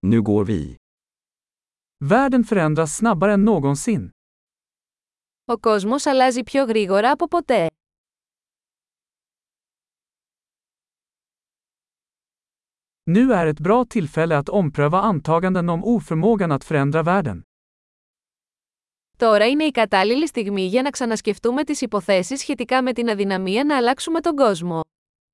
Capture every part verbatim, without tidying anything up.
Nu går vi. Världen förändras snabbare än någonsin. Ο κόσμος αλλάζει πιο γρήγορα από ποτέ. Nu är ett bra tillfälle att ompröva antaganden om oförmågan att förändra världen. Τώρα είναι η κατάλληλη στιγμή για να ξανασκεφτούμε τις υποθέσεις σχετικά με την αδυναμία να αλλάξουμε τον κόσμο.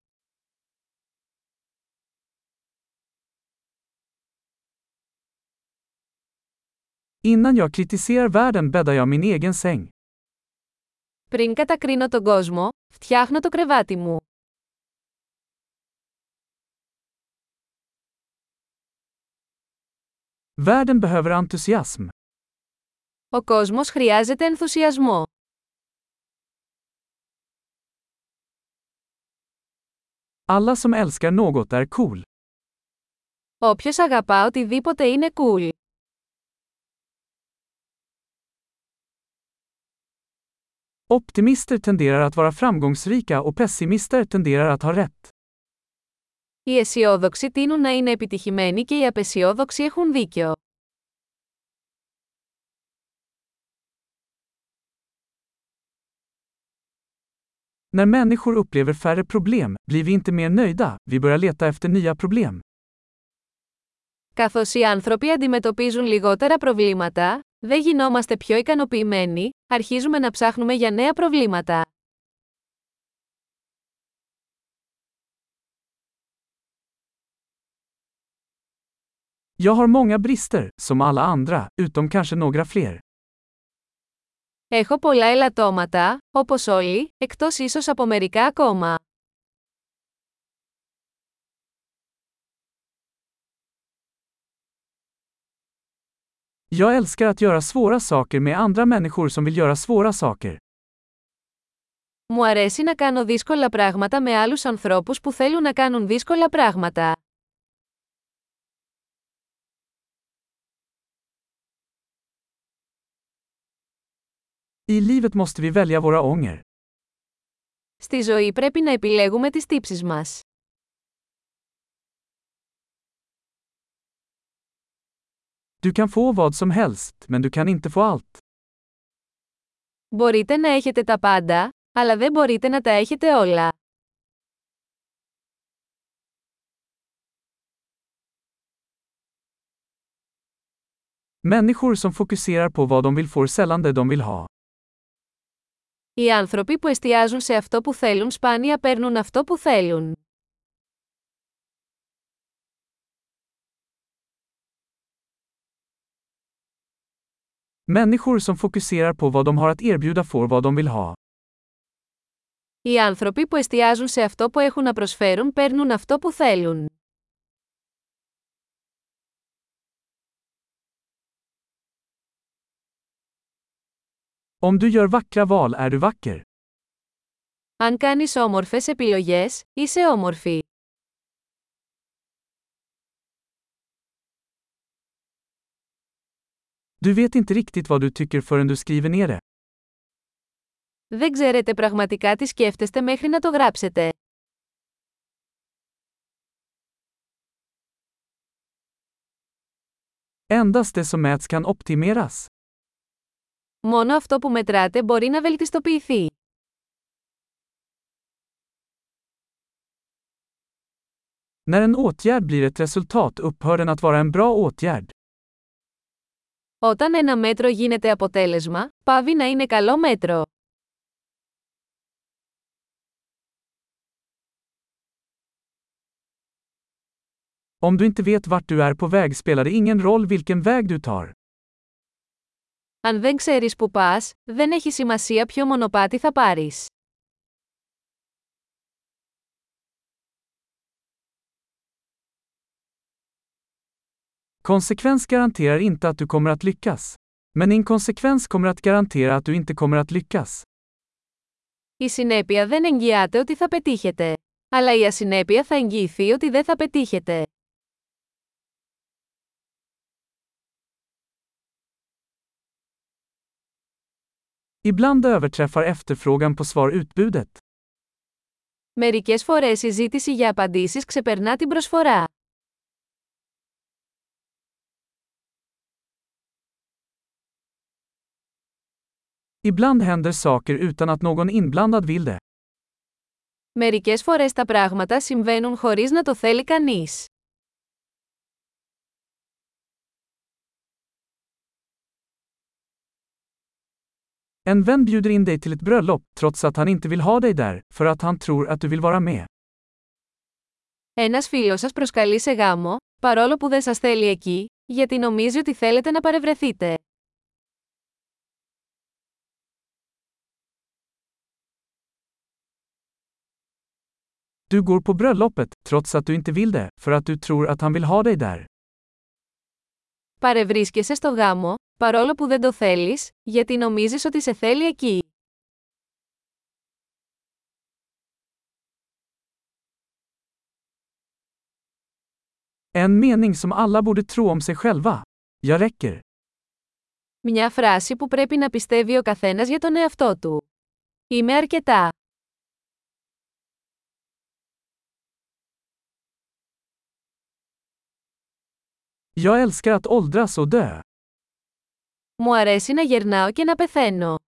Innan jag kritiserar världen bäddar jag min egen säng. Πριν κατακρίνω τον κόσμο, φτιάχνω το κρεβάτι μου. Världen behöver entusiasm. Ο κόσμος χρειάζεται ενθουσιασμό. Alla som älskar något är cool. Όποιος αγαπά οτιδήποτε είναι cool. Optimister tenderar att vara framgångsrika och pessimister tenderar att ha rätt. Οι αισιόδοξοι τείνουν να είναι επιτυχημένοι και οι απεσιόδοξοι έχουν δίκιο. När människor upplever färre problem, blir vi inte mer nöjda, vi börjar leta efter nya problem. Καθώς οι άνθρωποι αντιμετωπίζουν λιγότερα προβλήματα, δεν γινόμαστε πιο ικανοποιημένοι, αρχίζουμε να ψάχνουμε για νέα προβλήματα. Jag har många brister, som alla andra, utom kanske några fler. Έχω πολλά ελαττώματα, όπως όλοι, εκτός ίσως από μερικά ακόμα. Jag älskar att göra svåra saker med andra människor som vill göra svåra saker. Μου αρέσει να κάνω δύσκολα πράγματα με άλλους ανθρώπους που θέλουν να κάνουν δύσκολα πράγματα. I livet måste vi välja våra ånger. Στη ζωή πρέπει να επιλέγουμε τις τύψεις μας. Du kan få vad som helst, men du kan inte få allt. Μπορείτε να έχετε τα πάντα, αλλά δεν μπορείτε να τα έχετε όλα. Människor som fokuserar på vad de vill får sällan det de vill ha. Οι άνθρωποι που εστιάζουν σε αυτό που θέλουν σπάνια παίρνουν αυτό που θέλουν. Människor som fokuserar på vad de har att erbjuda får vad de vill ha. Οι άνθρωποι που εστιάζουν σε αυτό που έχουν να προσφέρουν παίρνουν αυτό που θέλουν. Om du gör vackra val är du vacker. Αν κάνεις όμορφες επιλογές, είσαι όμορφη. Du vet inte riktigt vad du tycker förrän du skriver ner det. Δεν ξέρετε πραγματικά τι σκέφτεστε μέχρι να το γράψετε. Endast det som mäts kan optimeras. Μόνο αυτό που μετράτε μπορεί να βελτιστοποιηθεί. När en åtgärd blir ett resultat upphör den att vara en bra åtgärd. Όταν ένα μέτρο γίνεται αποτέλεσμα, πάβει να είναι καλό μέτρο. Om du inte vet vart du är på väg spelar det ingen roll vilken väg du tar. Αν δεν ξέρεις που πας, δεν έχει σημασία ποιο μονοπάτι θα πάρεις. Konsekvens garanterar inte att du kommer att lyckas. Men inkonsekvens kommer att garantera att du inte kommer att lyckas. Η συνέπεια δεν εγγυάται ότι θα πετύχετε. Αλλά η ασυνέπεια θα εγγυηθεί ότι δεν θα πετύχετε. Ibland överträffar efterfrågan på svar utbudet. Μερικές φορές η ζήτηση για απαντήσεις ξεπερνά την προσφορά. Ibland händer saker utan att någon inblandad vill det. Μερικές φορές τα πράγματα συμβαίνουν χωρίς να το θέλει κανείς. En vän bjuder in dig till ett bröllop, trots att han inte vill ha dig där, för att han tror att du vill vara med. Ένας φίλος σας προσκαλεί σε γάμο, παρόλο που δεν σας θέλει εκεί, γιατί νομίζει ότι θέλετε να παρευρεθείτε. Du går på bröllopet, trots att du inte vill det, för att du tror att han vill ha dig där. Παρευρίσκεσαι στο γάμο, παρόλο που δεν το θέλεις, γιατί νομίζεις ότι σε θέλει εκεί. En mening som alla borde tro om sig själva. Jag räcker. Μια φράση που πρέπει να πιστεύει ο καθένας για τον εαυτό του. Είμαι αρκετά. Jag älskar att åldras och dö. Μου αρέσει να γερνάω και να πεθαίνω.